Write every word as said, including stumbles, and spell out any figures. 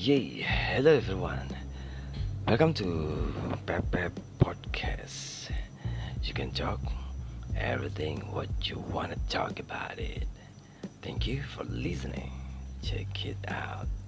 Yay, hello everyone. Welcome to Pep Pep Podcast. You can talk everything what you want to talk about it. Thank you for listening. Check it out.